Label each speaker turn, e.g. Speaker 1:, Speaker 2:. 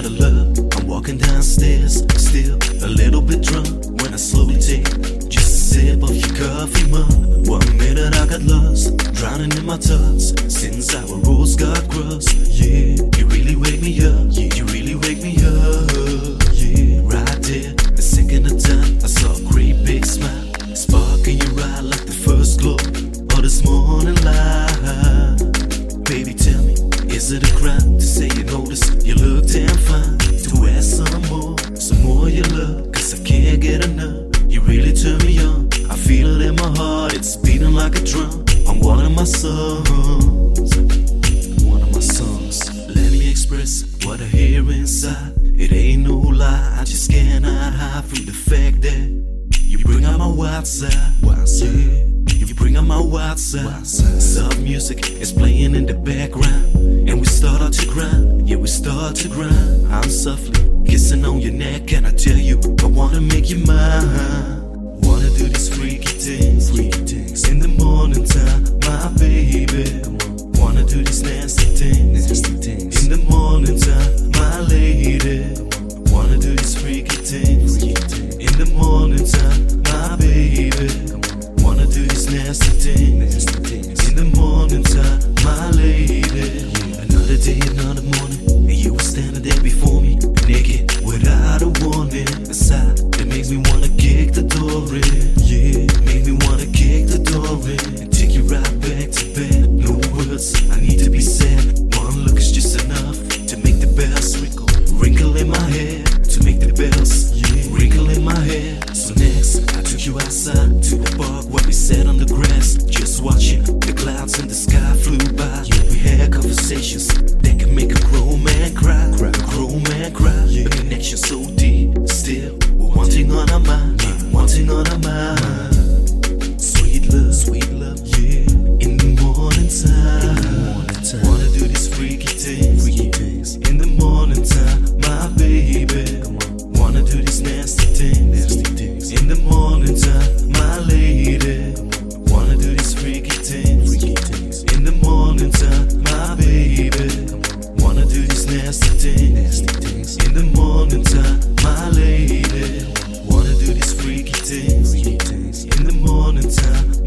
Speaker 1: out of love. I'm walking downstairs, still a little bit drunk, when I slowly take just a sip of your coffee, mug. 1 minute I got lost, drowning in my thoughts, since our roads got crossed. Yeah, you really wake me up. Yeah, you really wake me up. Yeah, right there, the second of time, I saw a great big smile, spark in your eye like the first glow of this morning light. Baby, tell me, is it a crime to say you notice you look damn fine? To ask some more your love, cause I can't get enough. You really turn me on, I feel it in my heart, it's beating like a drum on one of my songs. One of my songs. Let me express what I hear inside. It ain't no lie, I just cannot hide from the fact that you bring out my wild side. Yeah. You bring out my wild side. Soft music is playing in the background, and we start out to grind. Yeah, we start to grind. I'm softly kissing on your neck, and I tell you I wanna make you mine. Wanna do these freaky things in the morning time, my baby. Wanna do these nasty things in the morning time, my lady. Wanna do these freaky things in the morning time, my baby. Wanna do these nasty things in the morning time, my lady. Another day, another morning, and you were standing there before me, naked, without a warning. A sigh that makes me wanna kick the door in. Yeah, make me wanna kick the door in and take you right back to bed. No words, I need to be said. One look is just enough to make the bells wrinkle in my hair, to make the bells wrinkle in my hair. So next, I took you outside to the park where we sat on the grass, just watching the clouds in the sky flew by. We had conversations that can make a grown man cry, a grown man cry. A connection so deep, still we're wanting on our mind, wanting on our mind. Sweet love, yeah. In the morning time, wanna do these freaky things in the morning time, my baby. Wanna do these nasty things in the morning time, my lady. Wanna do these freaky things in the morning time, my baby. Wanna do these nasty things in the morning time, my lady. Wanna do these freaky things in the morning time,